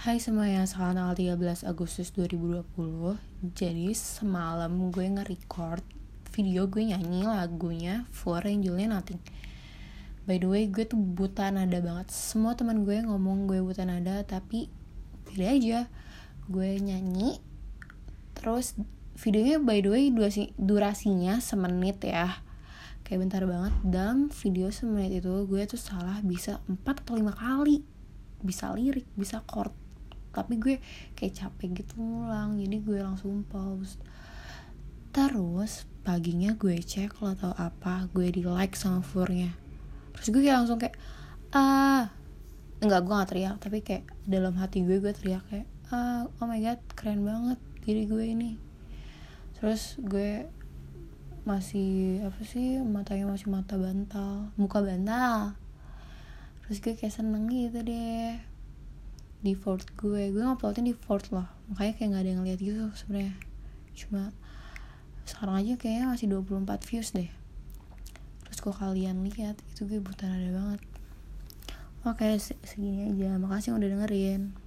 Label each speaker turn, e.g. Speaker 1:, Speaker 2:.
Speaker 1: Hai semuanya, sekarang tanggal 13 Agustus 2020. Jadi semalam gue nge-record video gue nyanyi lagunya For yang judulnya Nothing. By the way, gue tuh buta nada banget. Semua teman gue ngomong gue buta nada, tapi pilih aja. Gue nyanyi, terus videonya by the way durasinya semenit ya. Kayak bentar banget. Dalam video semenit itu gue tuh salah bisa 4 atau 5 kali. Bisa lirik, bisa chord, tapi gue kayak capek gitu ngulang, jadi gue langsung pause. Terus paginya gue cek lo tau apa, gue di like sama Furnya. Terus gue kayak langsung kayak enggak, gue gak teriak, tapi kayak dalam hati gue teriak kayak oh my god, keren banget diri gue ini. Terus gue masih matanya masih muka bantal. Terus gue kayak seneng gitu deh. Di Fort gue nguploadin di Fort loh, makanya kayak nggak ada yang lihat gitu sebenarnya. Cuma sekarang aja kayaknya masih 24 views deh. Terus kalau kalian lihat itu gue buta nada banget. Oke, segini aja. Makasih udah dengerin.